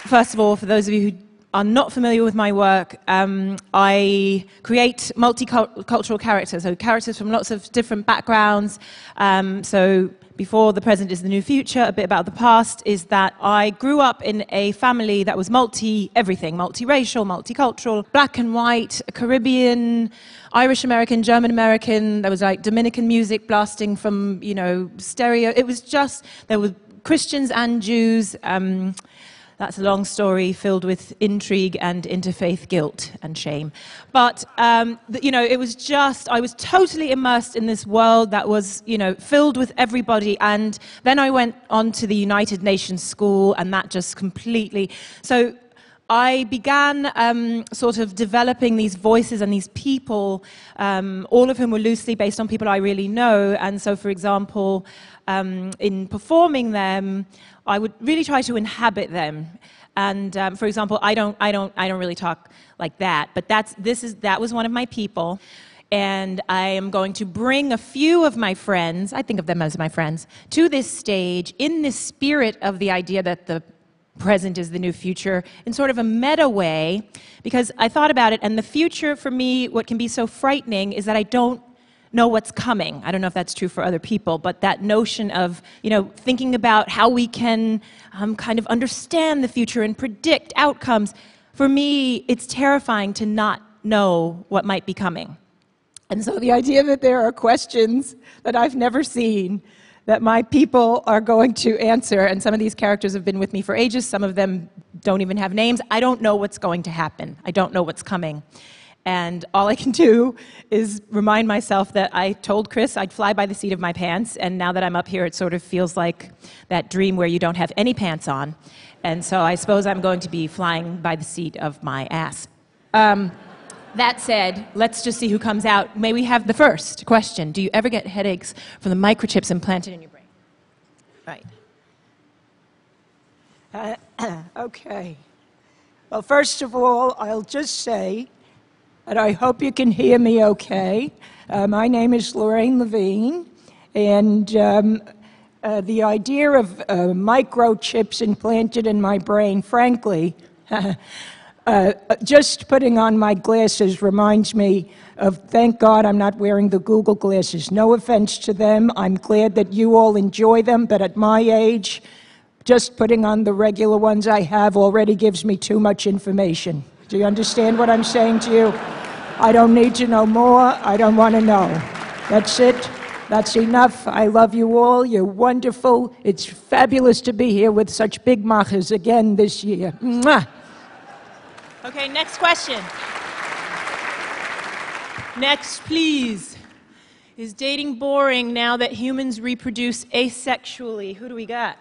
First of all, for those of you who are not familiar with my work, I create multicultural characters, so characters from lots of different backgrounds. So before the present is the new future, a bit about the past is that I grew up in a family that was everything, multiracial, multicultural, black and white, Caribbean, Irish American, German American. There was like Dominican music blasting from, stereo. It was just, there were Christians and Jews. That's a long story filled with intrigue and interfaith guilt and shame. But, it was just, I was totally immersed in this world that was, filled with everybody. And then I went on to the United Nations School, and that just completely... So I began sort of developing these voices and these people, all of whom were loosely based on people I really know. And so, for example, in performing them, I would really try to inhabit them. And for example, I don't really talk like that, but that was one of my people. And I am going to bring a few of my friends, I think of them as my friends, to this stage in the spirit of the idea that the present is the new future in sort of a meta way, because I thought about it, and the future for me, what can be so frightening is that I don't know what's coming. I don't know if that's true for other people, but that notion of, thinking about how we can kind of understand the future and predict outcomes, for me, it's terrifying to not know what might be coming. And so the idea that there are questions that I've never seen that my people are going to answer, and some of these characters have been with me for ages, some of them don't even have names. I don't know what's going to happen. I don't know what's coming. And all I can do is remind myself that I told Chris I'd fly by the seat of my pants, and now that I'm up here, it sort of feels like that dream where you don't have any pants on. And so I suppose I'm going to be flying by the seat of my ass. That said, let's just see who comes out. May we have the first question? Do you ever get headaches from the microchips implanted in your brain? Right. Okay. Well, first of all, I'll just say that I hope you can hear me okay. My name is Lorraine Levine, and the idea of microchips implanted in my brain, frankly, just putting on my glasses reminds me of, thank God I'm not wearing the Google glasses. No offense to them. I'm glad that you all enjoy them, but at my age, just putting on the regular ones I have already gives me too much information. Do you understand what I'm saying to you? I don't need to know more. I don't want to know. That's it. That's enough. I love you all. You're wonderful. It's fabulous to be here with such big machas again this year. Mwah. Okay, next question. Next, please. Is dating boring now that humans reproduce asexually? Who do we got?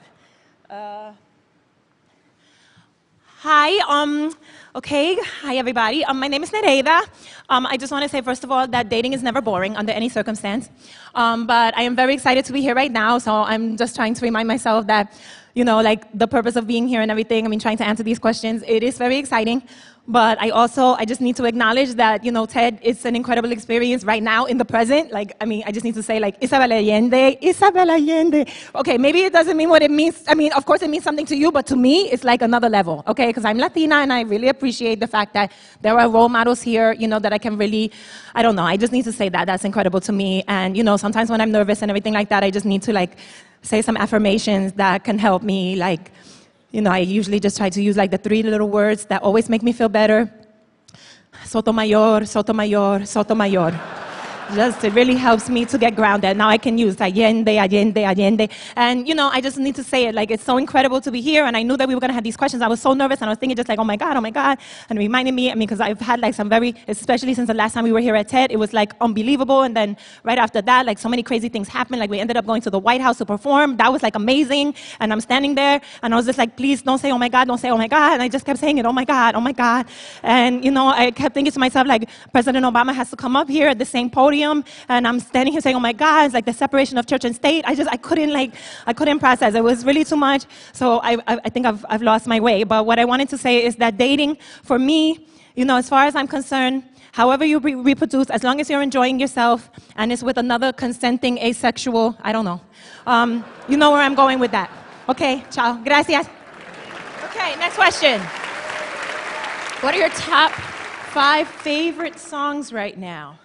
Hi, okay, hi everybody. My name is Nereida. I just want to say, first of all, that dating is never boring under any circumstance. But I am very excited to be here right now, so I'm just trying to remind myself that, like the purpose of being here and everything, trying to answer these questions, it is very exciting. But I just need to acknowledge that, TED, it's an incredible experience right now in the present. I just need to say, Isabel Allende. Okay, maybe it doesn't mean what it means. Of course it means something to you, but to me, it's like another level, okay? Because I'm Latina, and I really appreciate the fact that there are role models here, that I can really, I don't know, I just need to say that. That's incredible to me. And, sometimes when I'm nervous and everything like that, I just need to, say some affirmations that can help me, I usually just try to use the 3 little words that always make me feel better. Sotomayor, Sotomayor, Sotomayor. It really helps me to get grounded. Now I can use Allende, Allende, Allende. And, I just need to say it. It's so incredible to be here. And I knew that we were going to have these questions. I was so nervous. And I was thinking just oh my God. And it reminded me, because I've had some especially since the last time we were here at TED, it was unbelievable. And then right after that, so many crazy things happened. We ended up going to the White House to perform. That was amazing. And I'm standing there. And I was just please don't say, oh my God, don't say, oh my God. And I just kept saying it, oh my God, oh my God. And, I kept thinking to myself, President Obama has to come up here at the same podium. And I'm standing here saying, oh my God, it's the separation of church and state. I couldn't process. It was really too much. So I think I've lost my way. But what I wanted to say is that dating, for me, as far as I'm concerned, however you reproduce, as long as you're enjoying yourself and it's with another consenting asexual, I don't know. You know where I'm going with that. Okay, ciao. Gracias. Okay. right, next question. What are your top 5 favorite songs right now?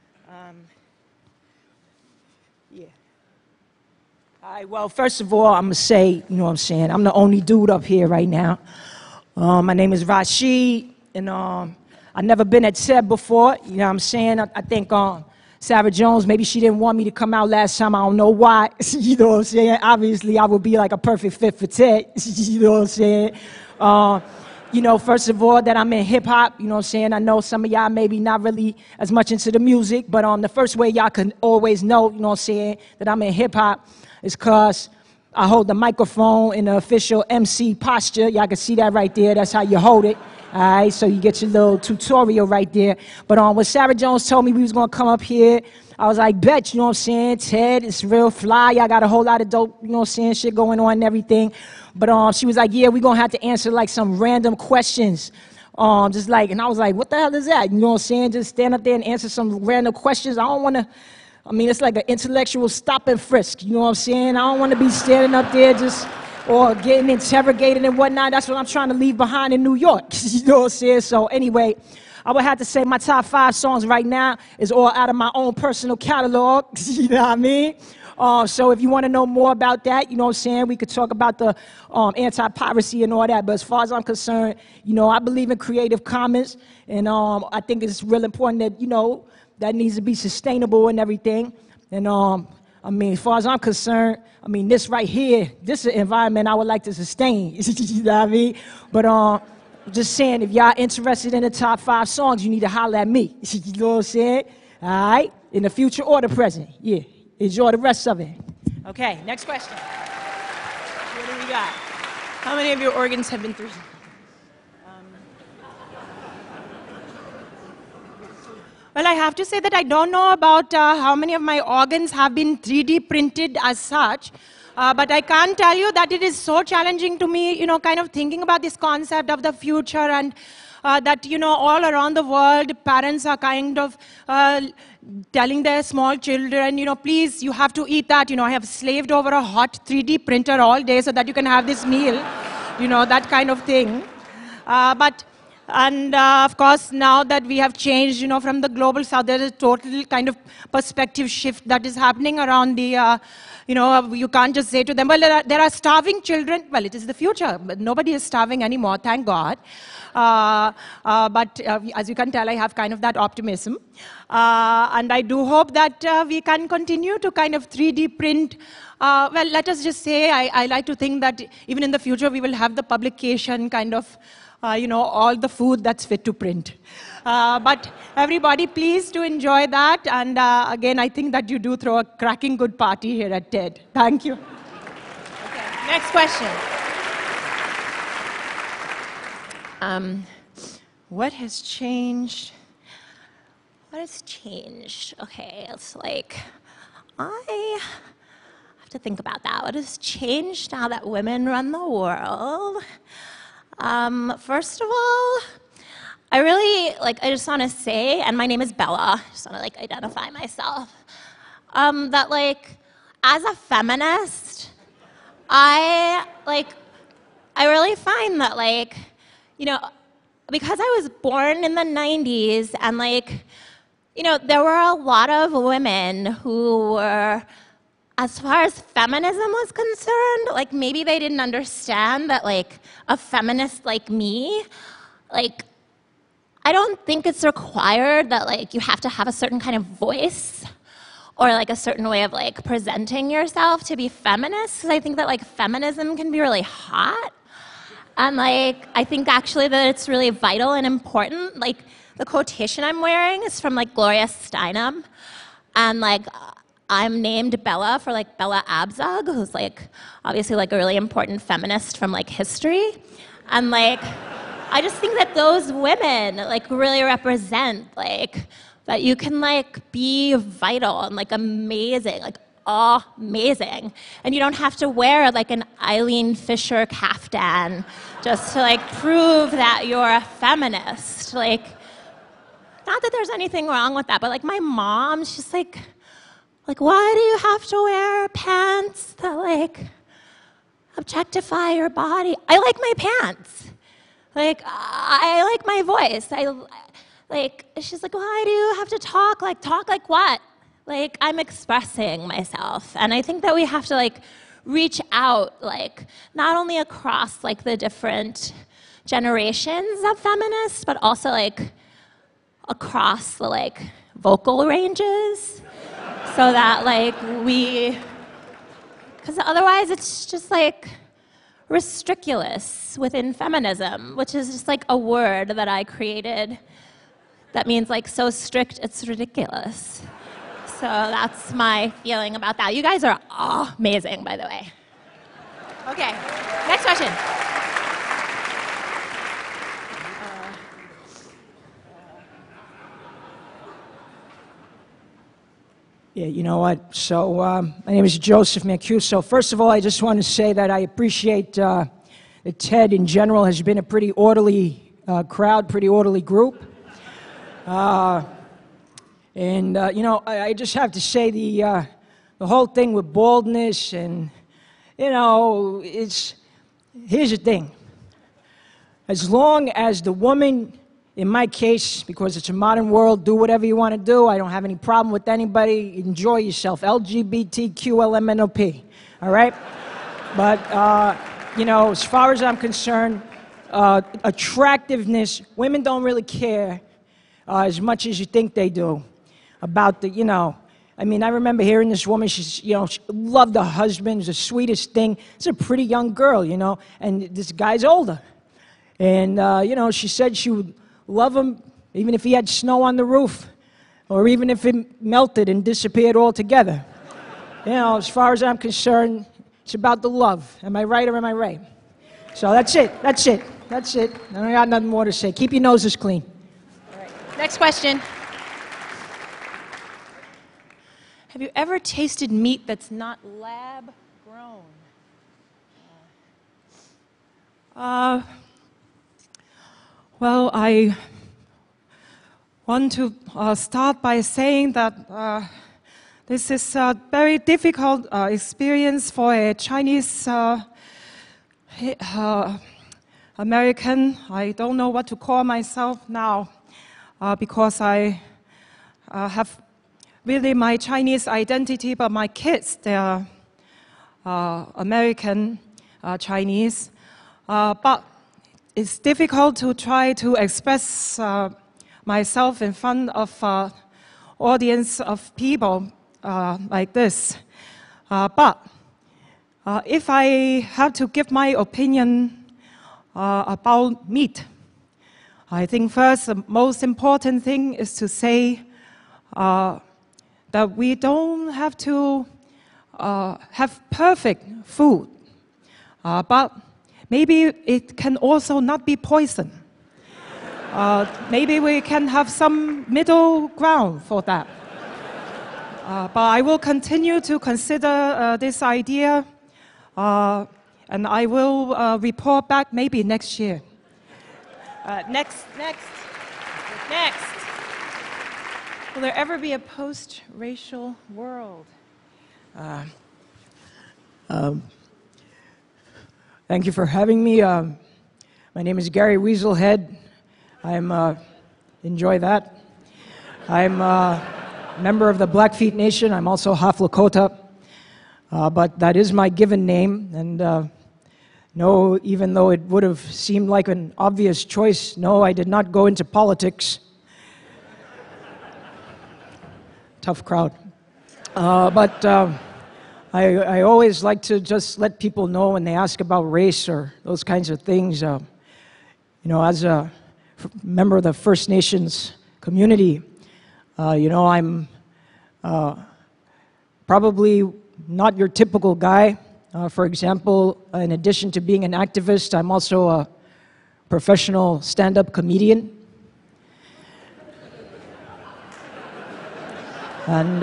Yeah. All right, well, first of all, I'm going to say, you know what I'm saying, I'm the only dude up here right now. My name is Rashid, and I've never been at TED before, you know what I'm saying? I think Sarah Jones, maybe she didn't want me to come out last time, I don't know why, you know what I'm saying? Obviously, I would be like a perfect fit for TED, you know what I'm saying? You know, first of all, that I'm in hip-hop, you know what I'm saying? I know some of y'all maybe not really as much into the music, but the first way y'all can always know, you know what I'm saying, that I'm in hip-hop is because I hold the microphone in the official MC posture. Y'all can see that right there. That's how you hold it. All right, so you get your little tutorial right there. But when Sarah Jones told me we was going to come up here, I was like, bet, you know what I'm saying? TED, it's real fly. Y'all got a whole lot of dope, you know what I'm saying, shit going on and everything. But she was like, yeah, we're going to have to answer like some random questions. Just like, and I was like, what the hell is that? You know what I'm saying? Just stand up there and answer some random questions. I don't want to, I mean, it's like an intellectual stop and frisk. You know what I'm saying? I don't want to be standing up there just, or getting interrogated and whatnot. That's what I'm trying to leave behind in New York. You know what I'm saying? So anyway, I would have to say my top 5 songs right now is all out of my own personal catalog. You know what I mean? So if you want to know more about that, you know what I'm saying, we could talk about the anti-piracy and all that. But as far as I'm concerned, you know, I believe in Creative Commons. And I think it's real important that, you know, that needs to be sustainable and everything. And I mean, as far as I'm concerned, I mean, this right here, this is an environment I would like to sustain. You know what I mean? But just saying, if y'all interested in the top 5 songs, you need to holler at me. You know what I'm saying? All right? In the future or the present. Yeah. Enjoy the rest of it. Okay, next question. What do we got? How many of your organs have been through? Well, I have to say that I don't know about how many of my organs have been 3D printed as such. But I can tell you that it is so challenging to me, you know, kind of thinking about this concept of the future and that, you know, all around the world, parents are kind of telling their small children, you know, please, you have to eat that. You know, I have slaved over a hot 3D printer all day so that you can have this meal, you know, that kind of thing. And of course, now that we have changed, you know, from the global south, there is a total kind of perspective shift that is happening around the, you know, you can't just say to them, well, there are starving children. Well, it is the future, but nobody is starving anymore, thank God. But as you can tell, I have kind of that optimism. And I do hope that we can continue to kind of 3D print. Well, let us just say, I like to think that even in the future, we will have the publication kind of, you know, all the food that's fit to print. But everybody, please do enjoy that. And again, I think that you do throw a cracking good party here at TED. Thank you. Okay, next question. What has changed? What has changed? Okay, it's like, I have to think about that. What has changed now that women run the world? First of all, I just want to say, and my name is Bella, I just want to identify myself, that as a feminist, I really find that you know, because I was born in the 90s and you know, there were a lot of women who were, as far as feminism was concerned, maybe they didn't understand that a feminist like me, I don't think it's required that you have to have a certain kind of voice or a certain way of presenting yourself to be feminist. Because I think that feminism can be really hot. And I think actually that it's really vital and important. The quotation I'm wearing is from Gloria Steinem. And I'm named Bella for Bella Abzug, who's obviously a really important feminist from history. And I just think that those women really represent that you can be vital and amazing, amazing. And you don't have to wear an Eileen Fisher kaftan just to prove that you're a feminist. Not that there's anything wrong with that, but my mom, she's why do you have to wear pants that objectify your body. I like my pants. Like, I like my voice. She's like, why do you have to talk? Like, talk like what? Like, I'm expressing myself. And I think that we have to, like, reach out, like, not only across, like, the different generations of feminists, but also, like, across the, like, vocal ranges. So that, like, because otherwise it's just, like, restriculous within feminism, which is just, like, a word that I created that means, like, so strict it's ridiculous. So that's my feeling about that. You guys are amazing, by the way. Okay, next question. Yeah, you know what? So, my name is Joseph Mancuso. First of all, I just want to say that I appreciate that TED in general has been a pretty orderly crowd, pretty orderly group. You know, I just have to say the whole thing with baldness and, you know, here's the thing. As long as the woman, in my case, because it's a modern world, do whatever you want to do. I don't have any problem with anybody. Enjoy yourself. LGBTQLMNOP. All right? But, you know, as far as I'm concerned, attractiveness, women don't really care as much as you think they do about the, you know, I mean, I remember hearing this woman, she loved her husband, it's the sweetest thing. It's a pretty young girl, you know, and this guy's older. And, you know, she said she would love him even if he had snow on the roof or even if it melted and disappeared altogether. You know, as far as I'm concerned, it's about the love. Am I right or am I right? So that's it. That's it. That's it. I don't got nothing more to say. Keep your noses clean. All right. Next question. Have you ever tasted meat that's not lab grown? Well, I want to start by saying that this is a very difficult experience for a Chinese American. I don't know what to call myself now because I have really my Chinese identity, but my kids, they are American Chinese. But it's difficult to try to express myself in front of audience of people like this. But if I have to give my opinion about meat, I think first the most important thing is to say that we don't have to have perfect food, but maybe it can also not be poison. Maybe we can have some middle ground for that. But I will continue to consider this idea, and I will report back maybe next year. Next. Will there ever be a post-racial world? Thank you for having me. My name is Gary Weaselhead. Enjoy that. I'm a member of the Blackfeet Nation. I'm also half Lakota, but that is my given name. And no, even though it would have seemed like an obvious choice, no, I did not go into politics. Tough crowd. But I always like to just let people know when they ask about race or those kinds of things. You know, as a member of the First Nations community, you know, I'm probably not your typical guy. For example, in addition to being an activist, I'm also a professional stand-up comedian. And,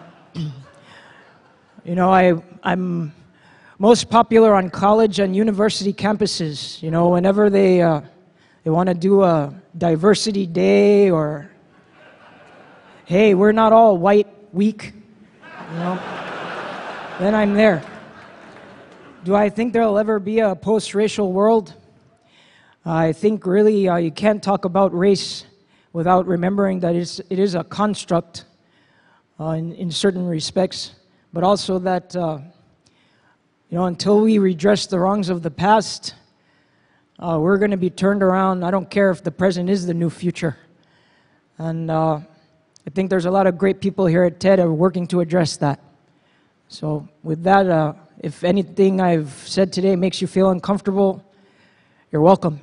you know, I'm most popular on college and university campuses. You know, whenever they want to do a diversity day or, hey, we're not all white week, you know, then I'm there. Do I think there'll ever be a post-racial world? I think really you can't talk about race without remembering that it is a construct in certain respects, but also that until we redress the wrongs of the past, we're going to be turned around. I don't care if the present is the new future. And I think there's a lot of great people here at TED who are working to address that. So with that, if anything I've said today makes you feel uncomfortable, you're welcome.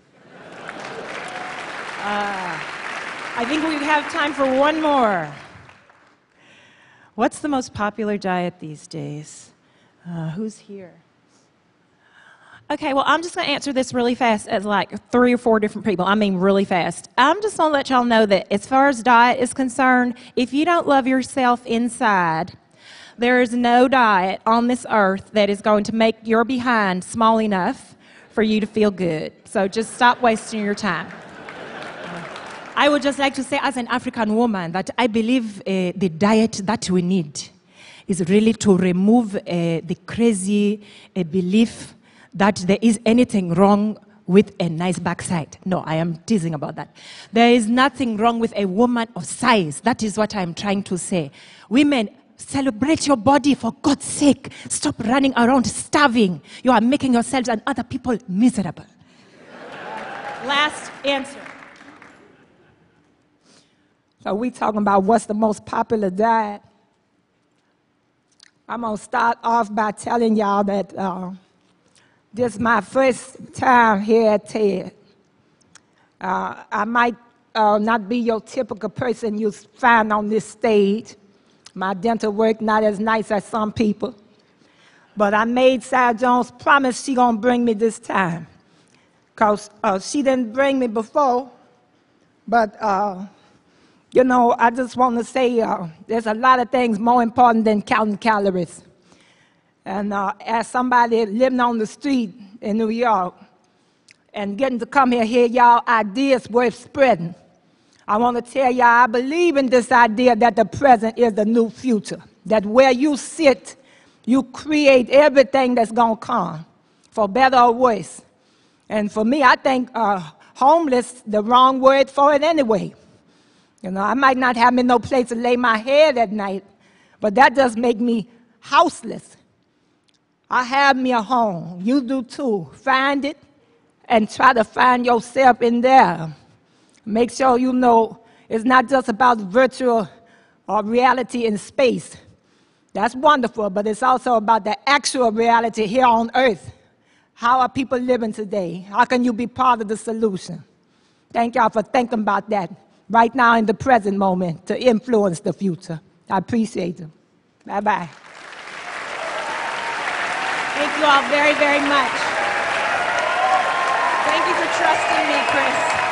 I think we have time for one more. What's the most popular diet these days? Who's here? Okay, well, I'm just going to answer this really fast as like 3 or 4 different people. I mean really fast. I'm just going to let y'all know that as far as diet is concerned, if you don't love yourself inside, there is no diet on this earth that is going to make your behind small enough for you to feel good. So just stop wasting your time. I would just like to say, as an African woman, that I believe the diet that we need is really to remove the crazy belief that there is anything wrong with a nice backside. No, I am teasing about that. There is nothing wrong with a woman of size. That is what I'm trying to say. Women, celebrate your body, for God's sake. Stop running around starving. You are making yourselves and other people miserable. Last answer. So we talking about what's the most popular diet. I'm going to start off by telling y'all that this is my first time here at TED. I might not be your typical person you find on this stage. My dental work not as nice as some people. But I made Sarah Jones promise she gonna bring me this time. Because she didn't bring me before. But, I just want to say there's a lot of things more important than counting calories. And as somebody living on the street in New York and getting to come here, hear y'all ideas worth spreading, I want to tell y'all I believe in this idea that the present is the new future. That where you sit, you create everything that's going to come, for better or worse. And for me, I think homeless, the wrong word for it anyway. I might not have me no place to lay my head at night, but that does make me houseless. I have me a home. You do too. Find it and try to find yourself in there. Make sure you know it's not just about virtual or reality in space. That's wonderful, but it's also about the actual reality here on earth. How are people living today? How can you be part of the solution? Thank y'all for thinking about that right now in the present moment to influence the future. I appreciate it. Bye-bye. Thank you all very, very much. Thank you for trusting me, Chris.